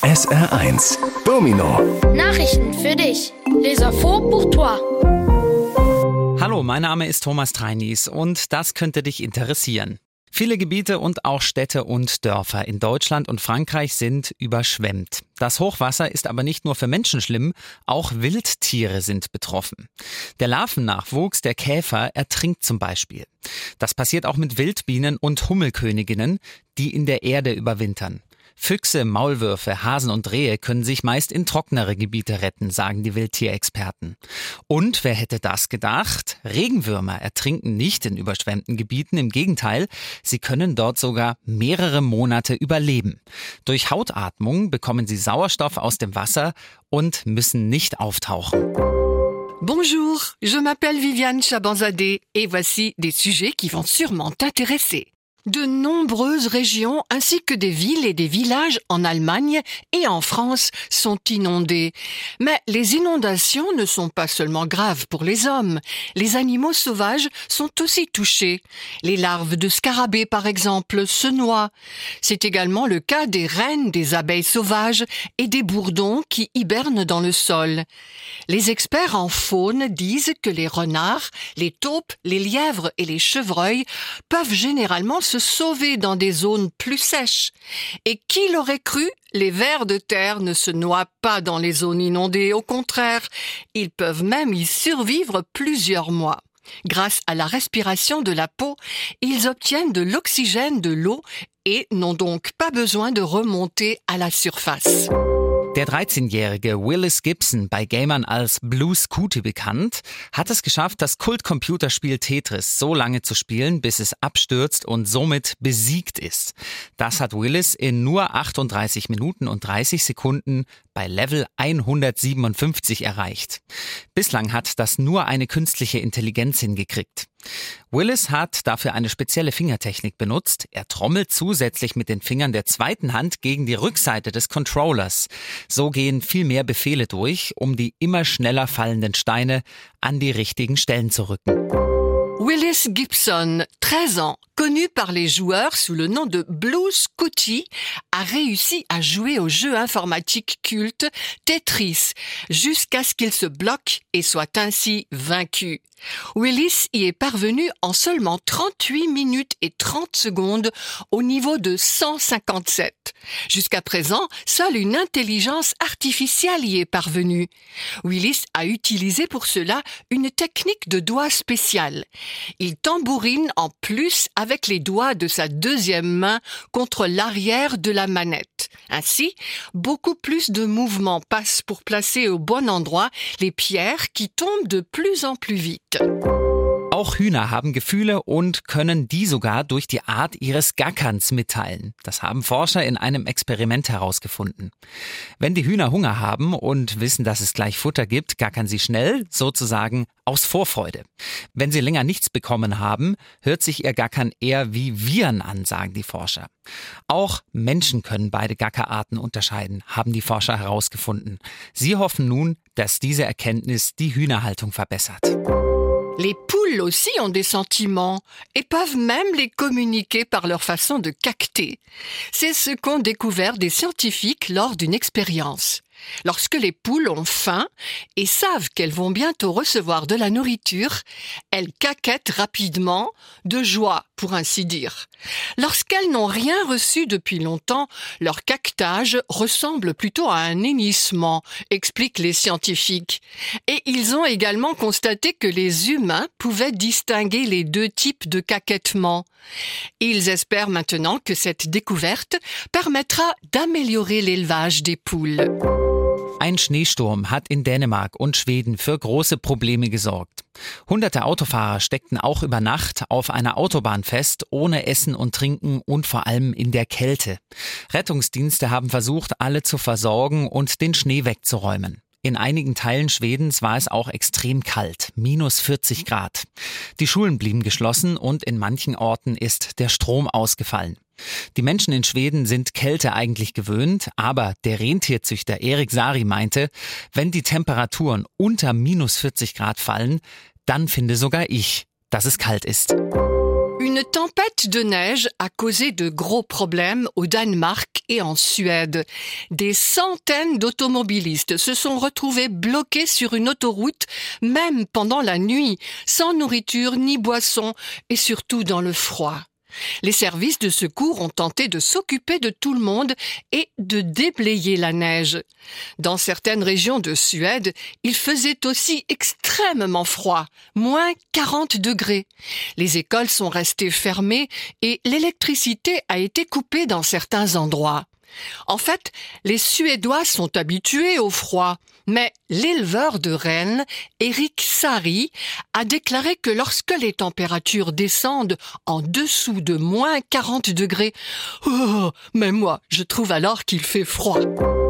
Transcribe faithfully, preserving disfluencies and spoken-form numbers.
S R eins Domino. Nachrichten für dich. Les infos pour toi. Hallo, mein Name ist Thomas Treinis und das könnte dich interessieren. Viele Gebiete und auch Städte und Dörfer in Deutschland und Frankreich sind überschwemmt. Das Hochwasser ist aber nicht nur für Menschen schlimm, auch Wildtiere sind betroffen. Der Larvennachwuchs der Käfer ertrinkt zum Beispiel. Das passiert auch mit Wildbienen und Hummelköniginnen, die in der Erde überwintern. Füchse, Maulwürfe, Hasen und Rehe können sich meist in trockenere Gebiete retten, sagen die Wildtierexperten. Und wer hätte das gedacht? Regenwürmer ertrinken nicht in überschwemmten Gebieten, im Gegenteil, sie können dort sogar mehrere Monate überleben. Durch Hautatmung bekommen sie Sauerstoff aus dem Wasser und müssen nicht auftauchen. Bonjour, je m'appelle Viviane Chabanzadeh et voici des sujets qui vont sûrement t'intéresser. De nombreuses régions ainsi que des villes et des villages en Allemagne et en France sont inondés. Mais les inondations ne sont pas seulement graves pour les hommes. Les animaux sauvages sont aussi touchés. Les larves de scarabées, par exemple, se noient. C'est également le cas des reines des abeilles sauvages et des bourdons qui hibernent dans le sol. Les experts en faune disent que les renards, les taupes, les lièvres et les chevreuils peuvent généralement se sauver dans des zones plus sèches. Et qui l'aurait cru? Les vers de terre ne se noient pas dans les zones inondées, au contraire, ils peuvent même y survivre plusieurs mois. Grâce à la respiration de la peau, ils obtiennent de l'oxygène de l'eau et n'ont donc pas besoin de remonter à la surface. Der dreizehnjährige Willis Gibson, bei Gamern als Blue Scooty bekannt, hat es geschafft, das Kult-Computerspiel Tetris so lange zu spielen, bis es abstürzt und somit besiegt ist. Das hat Willis in nur achtunddreißig Minuten und dreißig Sekunden bei Level hundertsiebenundfünfzig erreicht. Bislang hat das nur eine künstliche Intelligenz hingekriegt. Willis hat dafür eine spezielle Fingertechnik benutzt. Er trommelt zusätzlich mit den Fingern der zweiten Hand gegen die Rückseite des Controllers. So gehen viel mehr Befehle durch, um die immer schneller fallenden Steine an die richtigen Stellen zu rücken. Willis Gibson, treize ans, connu par les joueurs sous le nom de Blue Scooty, a réussi à jouer au jeu informatique culte Tetris jusqu'à ce qu'il se bloque et soit ainsi vaincu. Willis y est parvenu en seulement trente-huit minutes et trente secondes au niveau de cent cinquante-sept. Jusqu'à présent, seule une intelligence artificielle y est parvenue. Willis a utilisé pour cela une technique de doigt spéciale. Il tambourine en plus avec les doigts de sa deuxième main contre l'arrière de la manette. Ainsi, beaucoup plus de mouvements passent pour placer au bon endroit les pierres qui tombent de plus en plus vite. Auch Hühner haben Gefühle und können die sogar durch die Art ihres Gackerns mitteilen. Das haben Forscher in einem Experiment herausgefunden. Wenn die Hühner Hunger haben und wissen, dass es gleich Futter gibt, gackern sie schnell, sozusagen aus Vorfreude. Wenn sie länger nichts bekommen haben, hört sich ihr Gackern eher wie Wiehern an, sagen die Forscher. Auch Menschen können beide Gackerarten unterscheiden, haben die Forscher herausgefunden. Sie hoffen nun, dass diese Erkenntnis die Hühnerhaltung verbessert. Les poules aussi ont des sentiments et peuvent même les communiquer par leur façon de cacter. C'est ce qu'ont découvert des scientifiques lors d'une expérience. Lorsque les poules ont faim et savent qu'elles vont bientôt recevoir de la nourriture, elles caquettent rapidement, de joie, pour ainsi dire. Lorsqu'elles n'ont rien reçu depuis longtemps, leur caquetage ressemble plutôt à un hennissement, expliquent les scientifiques. Et ils ont également constaté que les humains pouvaient distinguer les deux types de caquettement. Ils espèrent maintenant que cette découverte permettra d'améliorer l'élevage des poules. Ein Schneesturm hat in Dänemark und Schweden für große Probleme gesorgt. Hunderte Autofahrer steckten auch über Nacht auf einer Autobahn fest, ohne Essen und Trinken und vor allem in der Kälte. Rettungsdienste haben versucht, alle zu versorgen und den Schnee wegzuräumen. In einigen Teilen Schwedens war es auch extrem kalt, minus vierzig Grad. Die Schulen blieben geschlossen und in manchen Orten ist der Strom ausgefallen. Die Menschen in Schweden sind Kälte eigentlich gewöhnt, aber der Rentierzüchter Erik Sari meinte, wenn die Temperaturen unter minus vierzig Grad fallen, dann finde sogar ich, dass es kalt ist. Une tempête de neige a causé de gros problèmes au Danemark et en Suède. Des centaines d'automobilistes se sont retrouvés bloqués sur une autoroute, même pendant la nuit, sans nourriture ni boisson, et surtout dans le froid. Les services de secours ont tenté de s'occuper de tout le monde et de déblayer la neige. Dans certaines régions de Suède, il faisait aussi extrêmement froid, moins quarante degrés. Les écoles sont restées fermées et l'électricité a été coupée dans certains endroits. En fait, les Suédois sont habitués au froid, mais l'éleveur de rennes, Eric Sari, a déclaré que lorsque les températures descendent en dessous de moins quarante degrés, oh, mais moi, je trouve alors qu'il fait froid.